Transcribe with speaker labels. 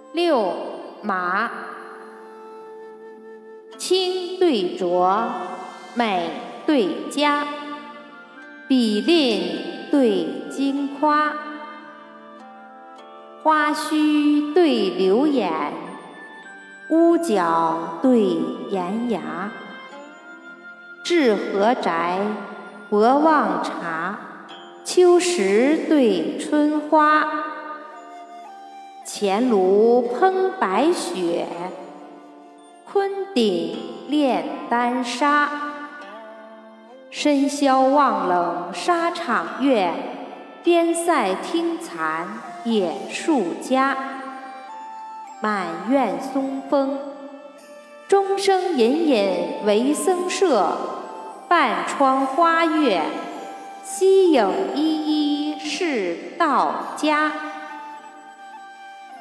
Speaker 1: 6. 马。清对浊，美对佳，比吝对矜夸，花须对流眼，屋角对檐牙。至和宅，博望察，秋实对春花。前炉烹白雪，昆鼎炼丹砂。深宵望冷沙场月，边塞听残野树家。满院松风，钟声隐隐为僧舍，半窗花月，溪影依依是道家。